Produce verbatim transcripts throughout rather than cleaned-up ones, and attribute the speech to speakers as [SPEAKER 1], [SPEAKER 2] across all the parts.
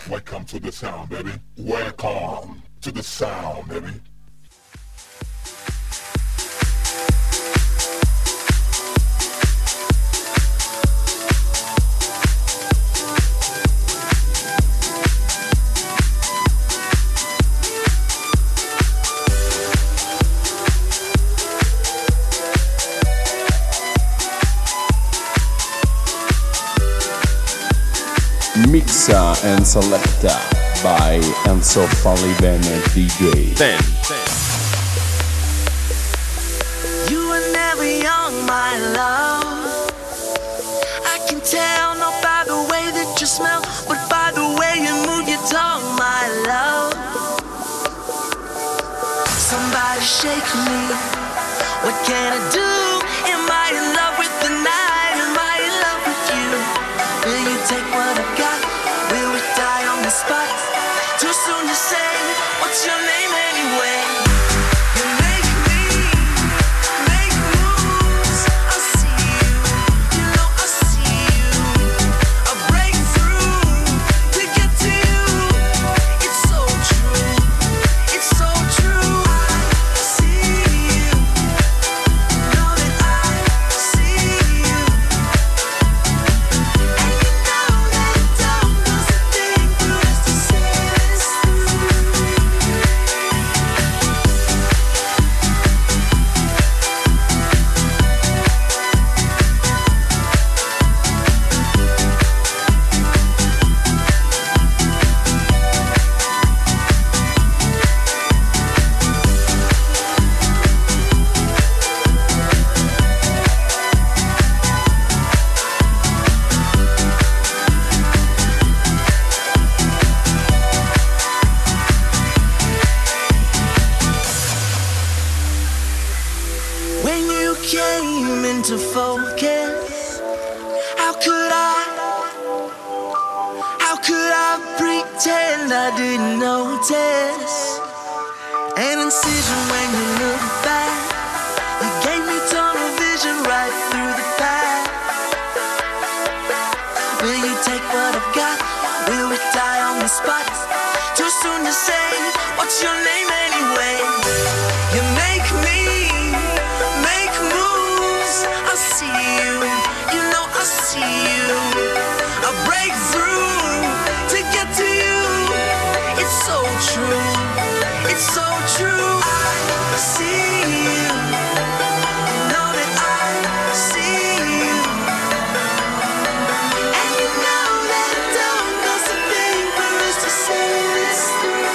[SPEAKER 1] Welcome to the sound, baby. Welcome to the sound, baby.
[SPEAKER 2] Mixa and Selecta by Enzo Falliven D J.
[SPEAKER 3] ten.
[SPEAKER 4] You were never young, my love. I can tell not by the way that you smell, but by the way you move your tongue, my love. Somebody shake me. What can I do? Am I in love with the night? Am I in love with you? Will you take what I've got? Will we die on the spot? Too soon to say. What's your name anyway? You make me make moves. I see you. You know I see you. I break through to get to you. It's so true. It's so true. I see you. Know that I see you. And you know that it don't cost a thing for us to say this through. When you came into focus, how could I, how could I pretend I didn't notice? An incision when you look back, you gave me tunnel vision right through the pack. Will you take what I've got? Will we die on the spot? Too soon to say. What's your name anyway? You make me make moves. I see you. You know I see you. I break through to get to you. It's so true. It's so true. I see you. Know that I see you. And you know that it don't cost a thing for us to say this through.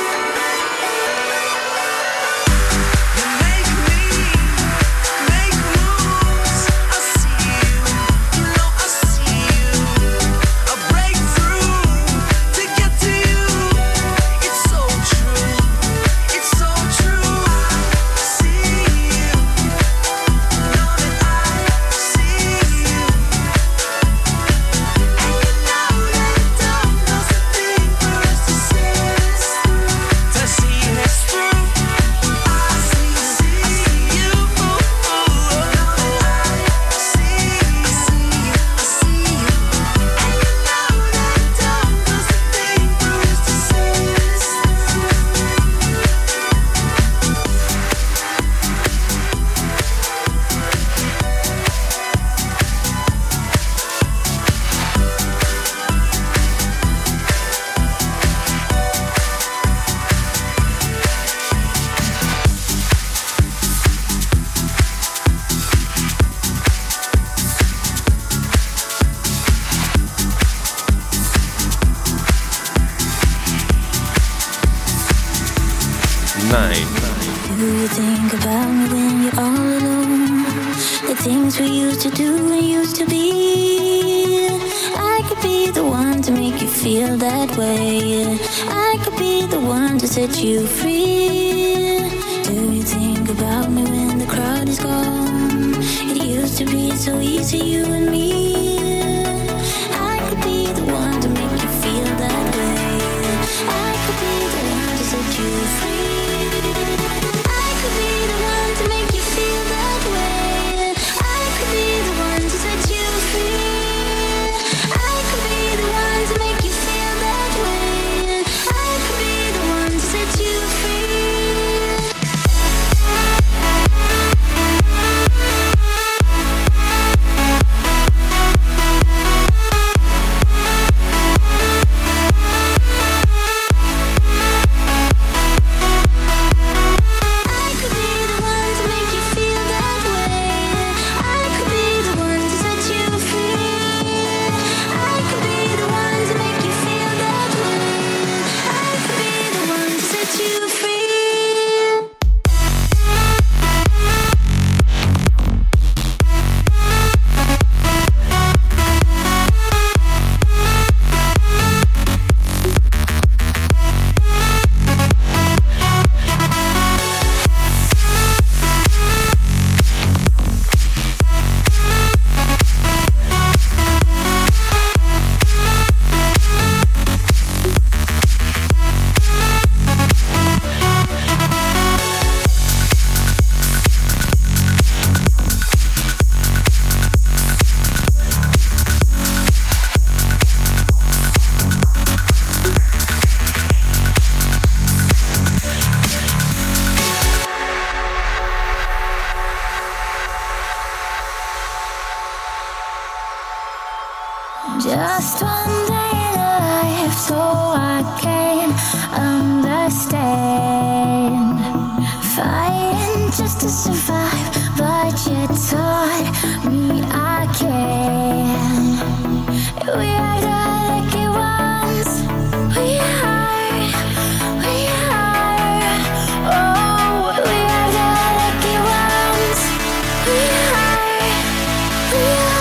[SPEAKER 4] You make me make moves. I see you. You know I see you. I break through to get to you. It's so true. It's so true. I see you. Know that I see you. And you know that it don't cost a thing for us to say this through. To see this through. I see you. I see you. Know that I see you. I see you. I see you. And you know that it don't cost a thing for us to say this through.
[SPEAKER 3] nine.
[SPEAKER 5] Do you think about me when you're all alone? The things we used to do and used to be. I could be the one to make you feel that way. I could be the one to set you free. Do you think about me when the crowd is gone? It used to be so easy, you and me. I could be the one to make you feel that way. I could be the one to set you free. I could be the one to make you feel that way. I could be the one to set you free. I could be the one to make you feel that way. Just one day in life so I can understand. Fighting just to survive, but you taught me I can. We are the lucky ones. We are, we are. Oh, we are the lucky ones. We are, we are.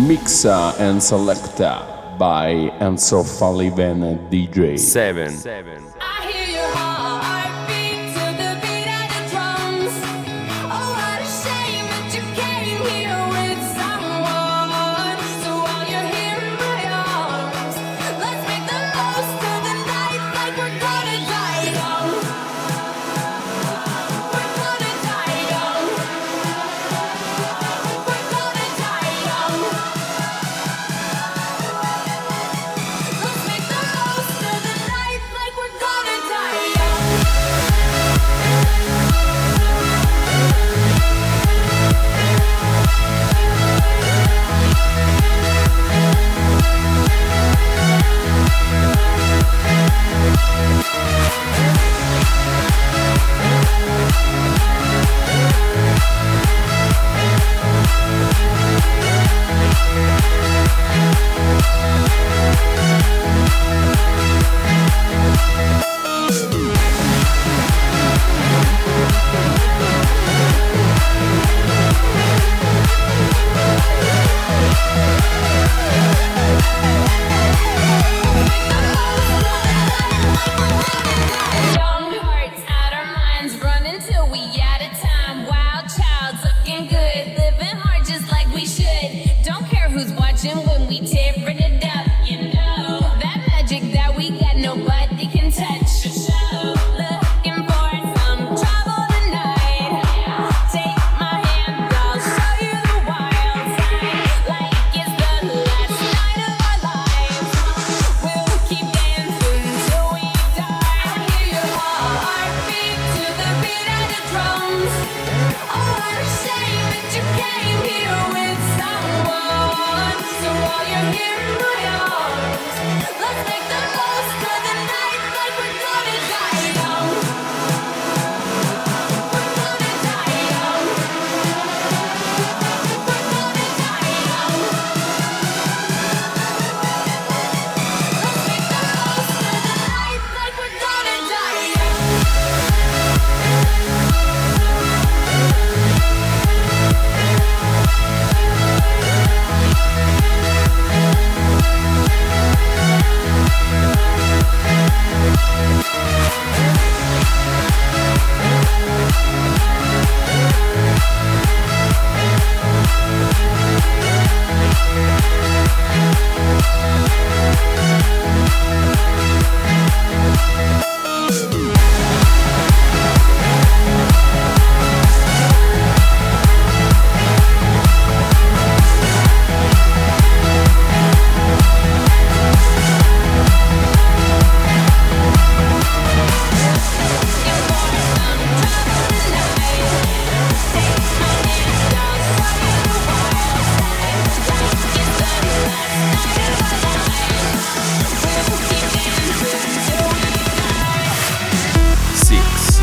[SPEAKER 2] Mixa and Selecta by Enzo Falliven D J.
[SPEAKER 3] seven.
[SPEAKER 6] I hear your heartbeat to the beat of the drums. Oh, what a shame that you came here with someone. So while you're here in my arms, let's make the most of the night like we're gonna die young. We're gonna die young. We're gonna die young. Let's make the most of the night like we're gonna die young. Young hearts out our minds, running till we out of time. Wild child, looking good, living hard just like we should. Don't care who's watching when we tearing it up, you know. That magic that we got, nobody can touch or show. Looking for some trouble tonight. Take my hand, I'll show you the wild side. Like it's the last night of our lives. We'll keep dancing till we die. I hear your heartbeat to the beat of the drums. Oh, what a shame that you came here with someone. So while you're here in my arms, let's make the most of the night like we're gonna die young. We're gonna die young. We're gonna die young. Let's make the most of the night like we're gonna die young.
[SPEAKER 3] six.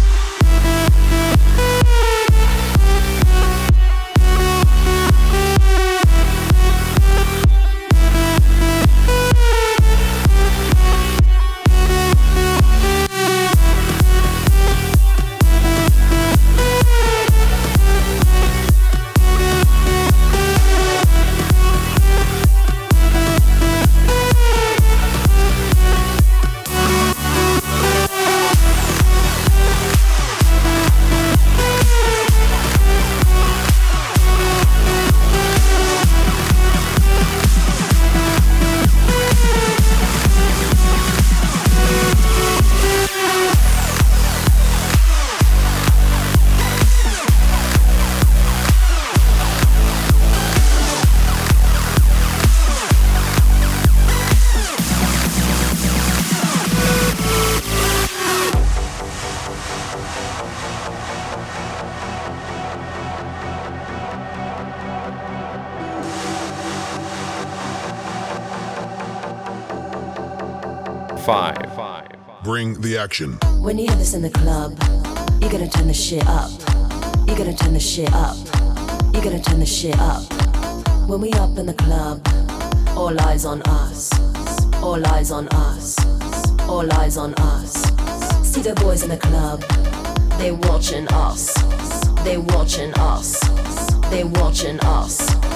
[SPEAKER 3] Five.
[SPEAKER 1] Bring the action.
[SPEAKER 7] When you hear this in the club, you're gonna turn the shit up. You're gonna turn the shit up. You're gonna turn the shit up. When we up in the club, all eyes on us. All eyes on us. All eyes on us. See the boys in the club, they watching us. They watching us. They watching us.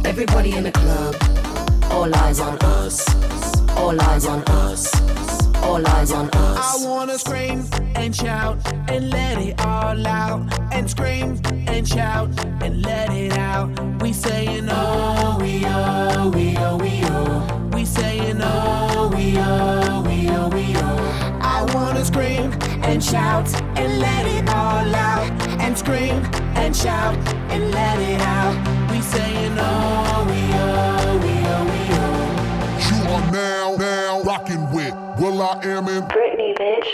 [SPEAKER 7] Everybody in the club, all eyes on us. All eyes on us. All eyes on us.
[SPEAKER 8] I wanna scream and shout and let it all out. And scream and shout and let it out. We saying oh, we oh, we oh, we oh. We saying oh, we oh, we oh, we oh. I wanna scream and shout and let it all out. And scream and shout and let it out. We saying oh, we oh, we oh, we oh.
[SPEAKER 1] You are now, now rocking with Will I Am in
[SPEAKER 5] Britney, bitch.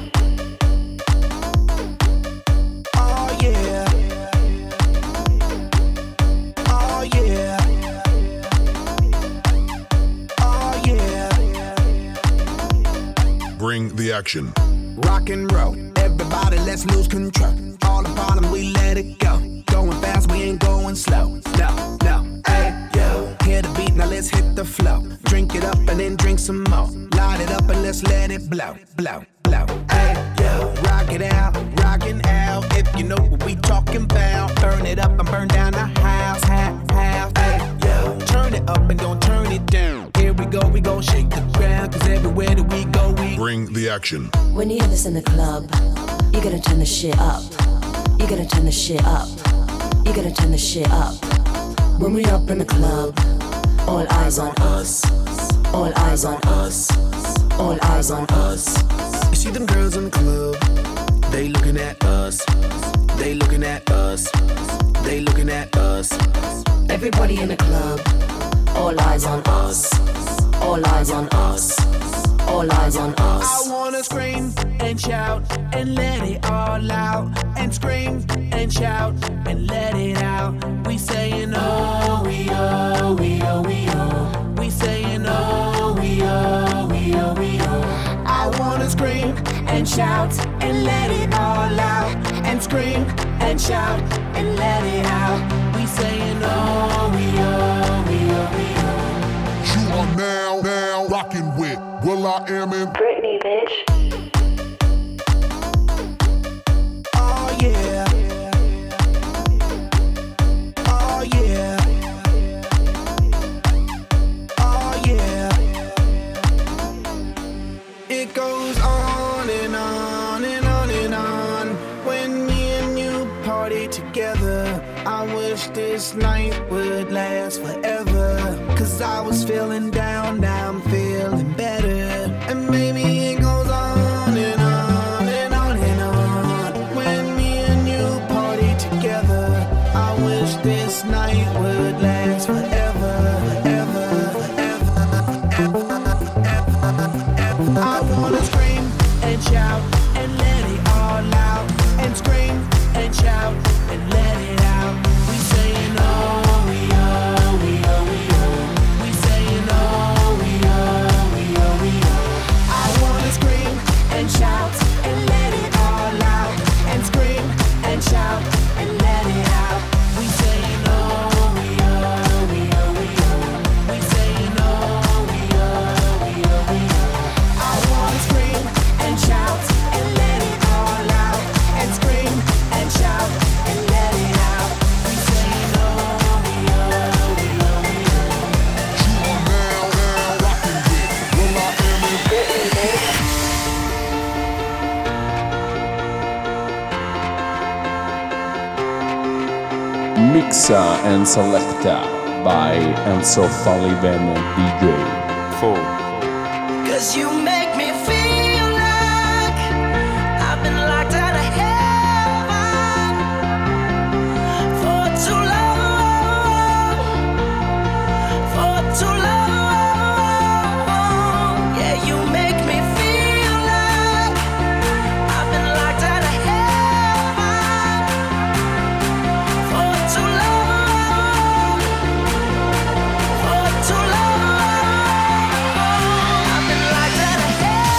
[SPEAKER 8] Oh yeah. Oh yeah. Oh yeah.
[SPEAKER 1] Bring the action.
[SPEAKER 8] Rock and roll, everybody let's lose control. All the bottom we let it go. Going fast, we ain't going slow. No, no, hey, yo. Hear the beat, now let's hit the flow. Drink it up and then drink some more. Light it up and let's let it blow, blow, blow. Hey, yo. Rock it out, rockin' out. If you know what we talking about. Burn it up and burn down the house, half, half. Hey, yo. Turn it up and don't turn it down. Here we go, we gon' shake the ground. Cause everywhere that we go, we
[SPEAKER 1] Bring the action.
[SPEAKER 7] When you hear this in the club, you gotta turn the shit up. You gotta turn the shit up. You gotta turn the shit up. When we up in the club, all eyes on us. All eyes on us. All eyes on us.
[SPEAKER 8] You see them girls in the club, they looking at us. They looking at us. They looking at us.
[SPEAKER 7] Everybody in the club, all eyes on us. All eyes on us. All eyes on us.
[SPEAKER 8] I wanna scream and shout and let it all out. And scream and shout and let it out. We saying oh, we oh, we oh, we oh. We saying oh, we oh, we oh, we oh. I wanna scream and shout and let it all out. And scream and shout and let it out. We saying oh, we oh, we oh, we oh.
[SPEAKER 1] You are now, now rocking with Will I Am in
[SPEAKER 5] Britney, bitch.
[SPEAKER 8] Oh yeah. Oh yeah. Oh yeah. It goes on and on and on and on. When me and you party together, I wish this night would last forever. Cause I was feeling down, now I'm feeling better. And maybe it goes on and on and on and on. When me and you party together, I wish this night would last forever, forever, forever, forever, forever, forever. I wanna scream and shout and let it all out. And scream and shout and let it out. We saying oh, we oh, we oh, we oh. We saying oh, we oh, we oh, we oh. I wanna scream and shout and let it all out. And scream and shout and let it out. We saying oh, we oh, we oh, we oh. We saying oh, we oh, we oh, we oh. I wanna scream and shout and let it all out. And scream and shout and let it out. We saying oh, we oh, we oh, we oh.
[SPEAKER 1] You are now, now rocking with Will I Am in
[SPEAKER 5] Britney, bitch.
[SPEAKER 2] Mixa and Selecta by Enzo Sullivan D J.
[SPEAKER 3] four,
[SPEAKER 4] Cause you make me feel like I've been locked out of heaven for too long, for too long. Yeah, you make me feel like I've been locked out of heaven for too long, for too long. I've been locked out of heaven.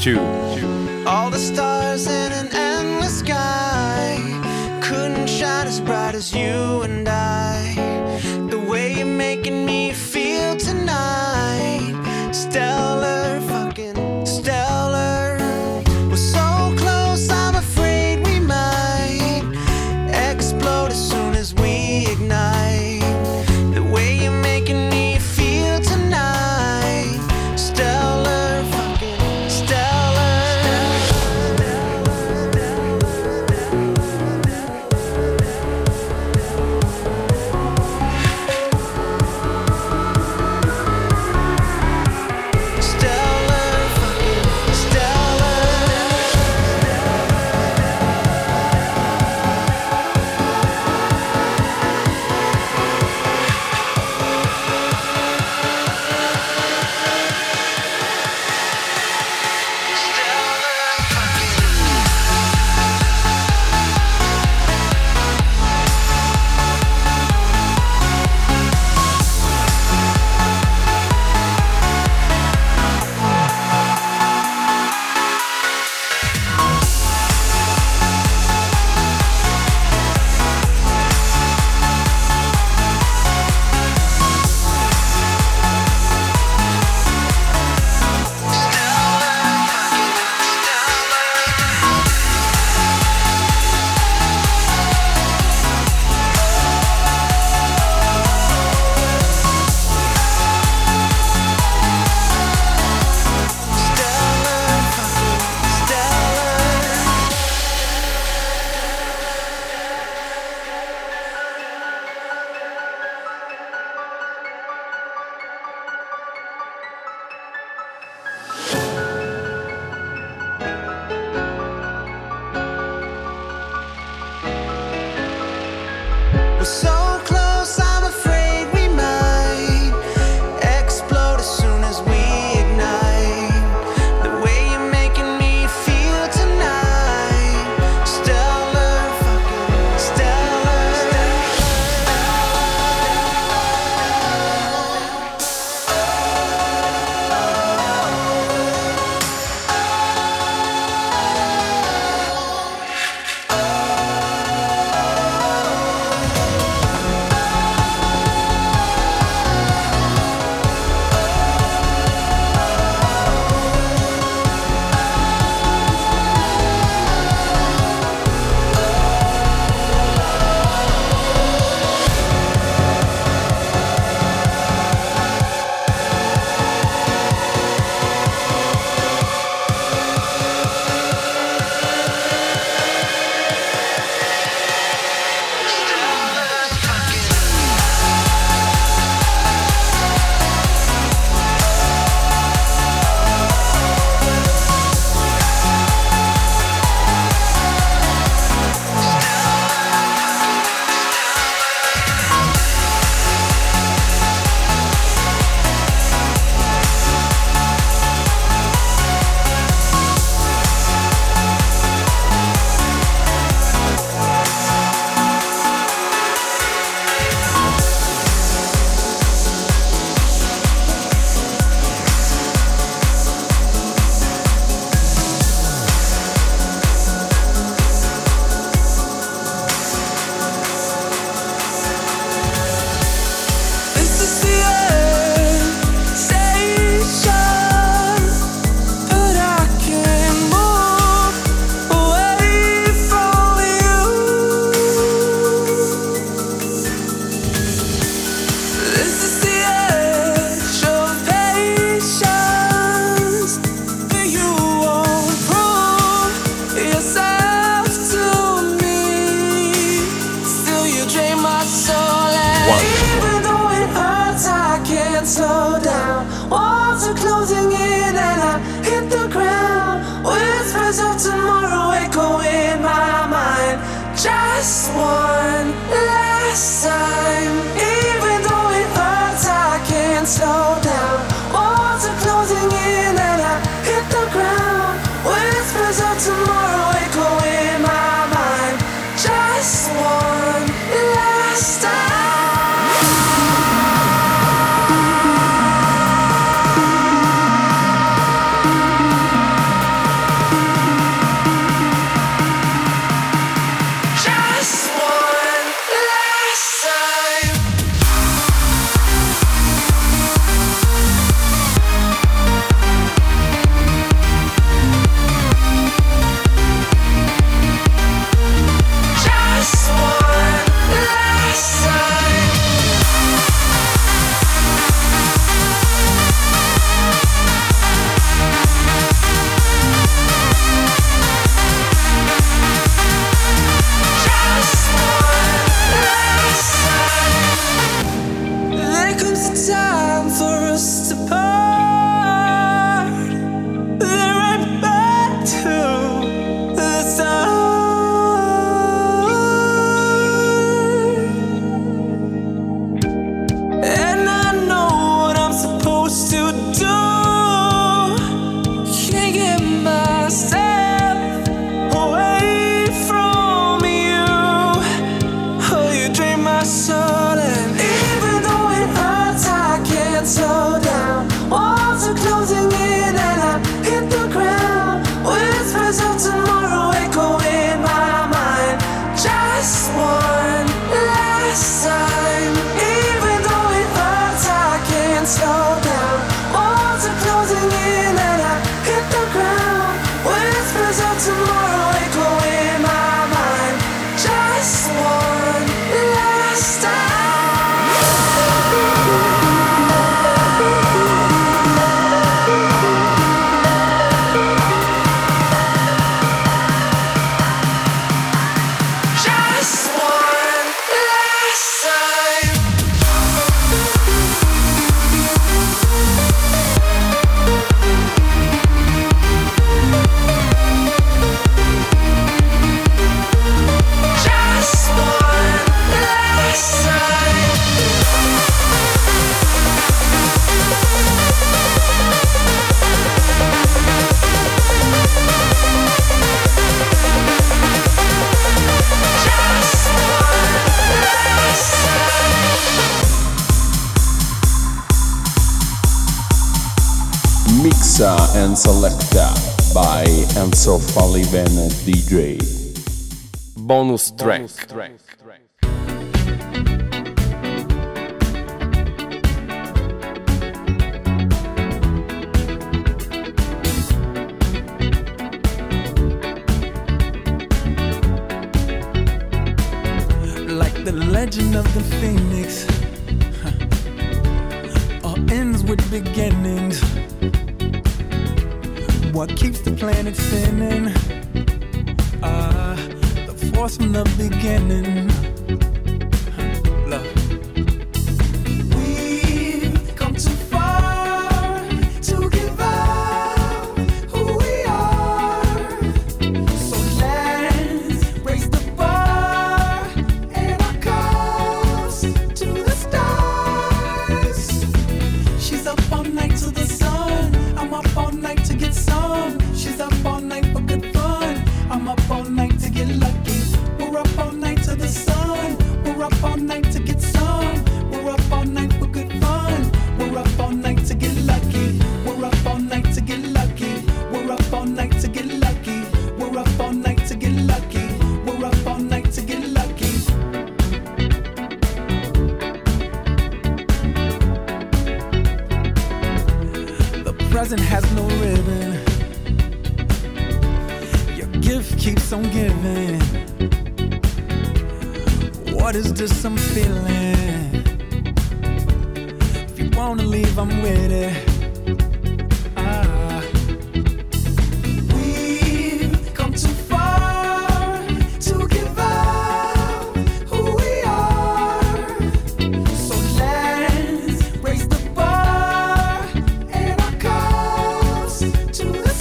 [SPEAKER 3] two.
[SPEAKER 8] All the stars in an endless sky couldn't shine as bright as you and I. The way you're making me feel tonight, stellar, fucking stellar. We're so close, I'm afraid we might explode as soon as we ignite. The way you're making me feel tonight, stellar, fucking stellar. Stellar, fucking stellar. We're so close, I'm afraid we might explode as soon as we ignite. The way you're making me feel tonight, stellar, fucking stellar. This is the end station, but I can't move away from you. This is the edge of patience, but you won't prove yourself to me. Still, you drain my soul, and even though it hurts, I can't slow down. Walls are closing in, and I hit the ground. Whispers of tomorrow echo in my mind. Just one last time. Even though it hurts, I can't slow down. Walls are closing in, and I hit the ground. Whispers of tomorrow echo in my mind. Just one last time.
[SPEAKER 2] Mixa and Selecta by Enzo Falliven D J.
[SPEAKER 3] Bonus track.
[SPEAKER 8] Like the legend of the Phoenix, huh. All ends with beginnings. What keeps the planet spinning? Ah, uh, the force from the beginning. Huh. Love. We've come too far to give up who we are. So let's raise the bar and our cups to the stars. She's up all night to the sun. I'm up all night to get some. She's up all night for good fun. I'm up all night to get lucky. We're up all night to the sun. We're up all night to get some. We're up all night for good fun. We're up all night to get lucky. We're up all night to get lucky. We're up all night to get lucky. We're up all night to get lucky. We're up all night to get lucky. The present has no ribbon. Your gift keeps on giving. What is this I'm feeling? If you wanna leave, I'm with it. Ah. We've come too far to give up who we are. So let's raise the bar and our cups to the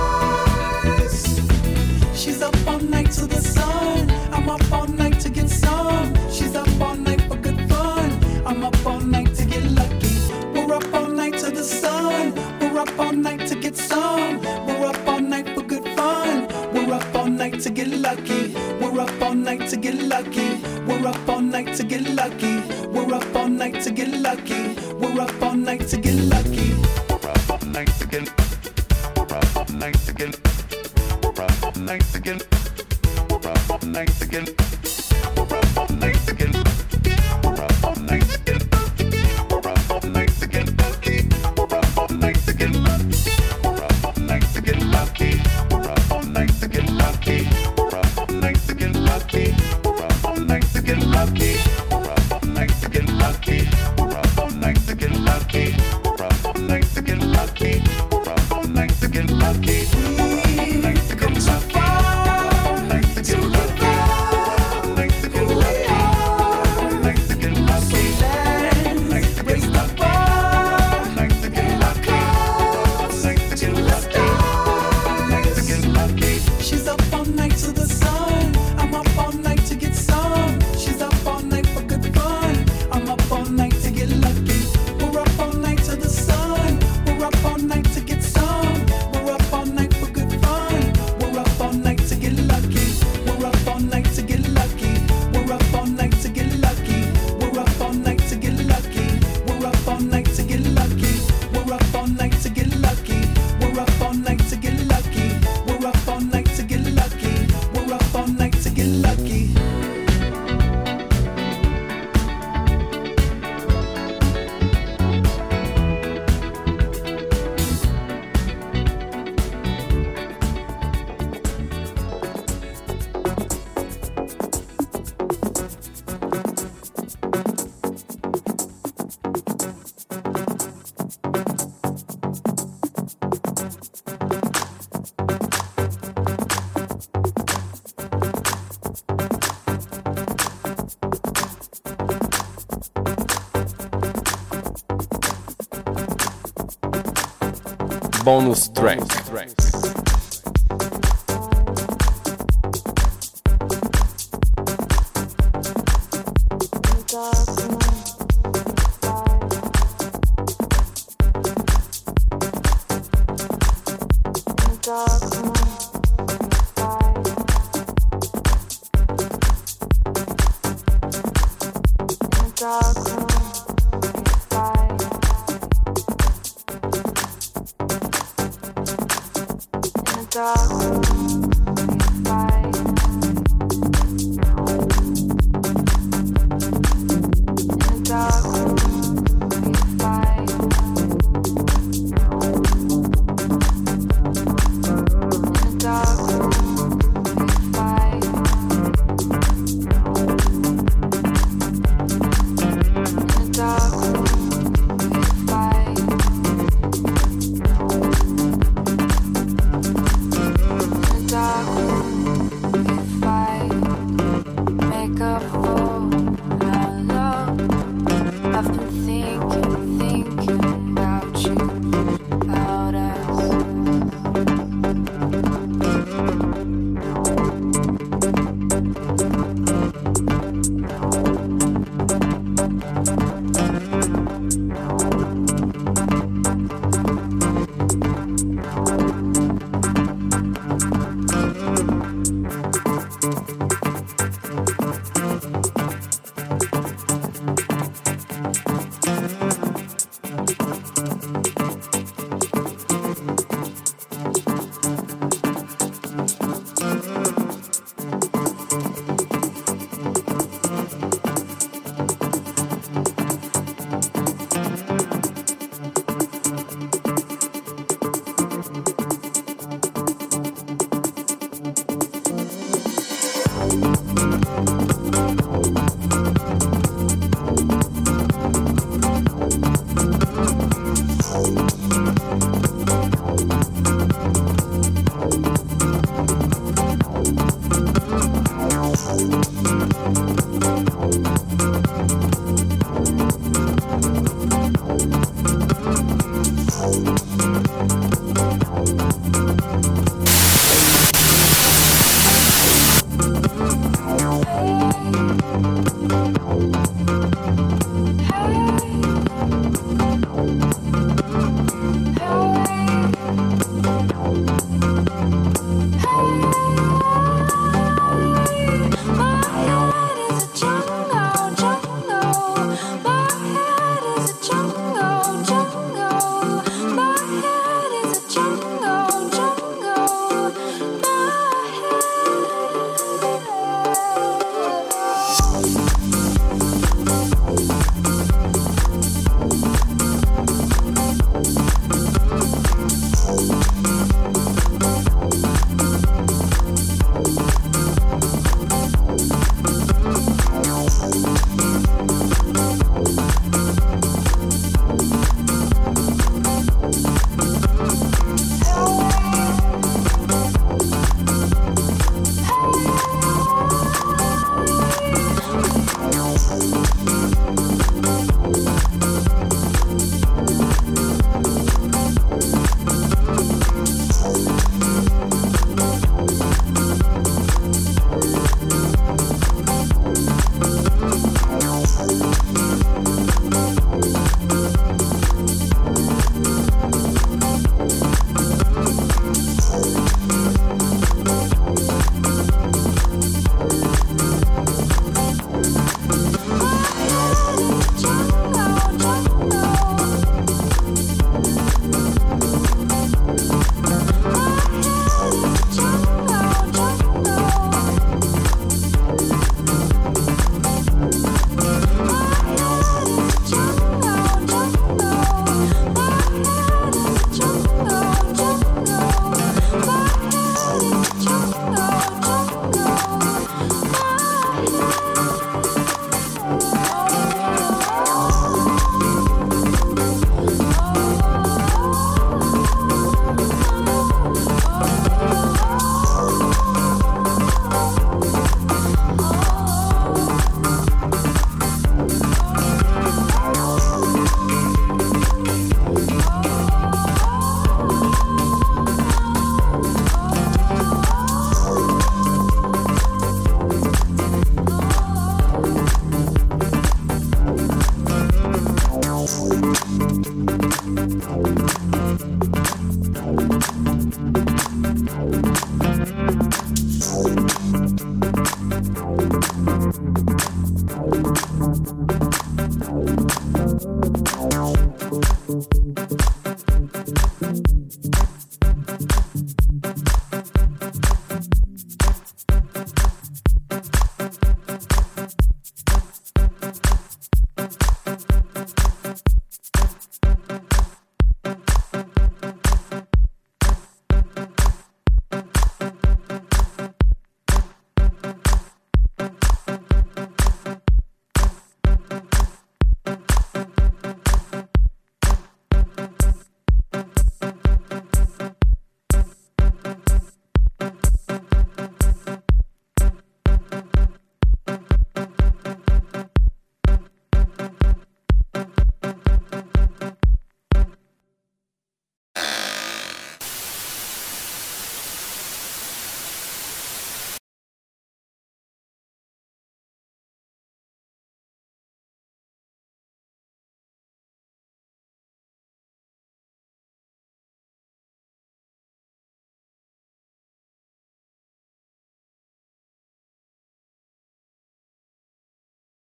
[SPEAKER 8] stars. She's up all night to the sun. I'm up all night to get some. She's up all night for good fun. I'm up all night to get lucky. We're up all night to the sun. We're up all night to get some. We're up all night for good fun. We're up all night to get lucky. We're up all night to get lucky. We're up all night to get lucky. We're up all night to get lucky. We're up all night to get lucky. We're up all night to get. We're up all night to get. We're up all night to get. We're up all night to get. We're up all night to get. We're up all night to get. We're up all night to get lucky. We're up all night to get lucky. We're up all night to get lucky. We're up all night to get lucky. We're up all night to get lucky. We're up all night to get lucky. We're up all night to get lucky. We're up all night to get lucky. We're up all night to get lucky. We're up all night to get lucky. We're up all night to get lucky.
[SPEAKER 3] Bonus track.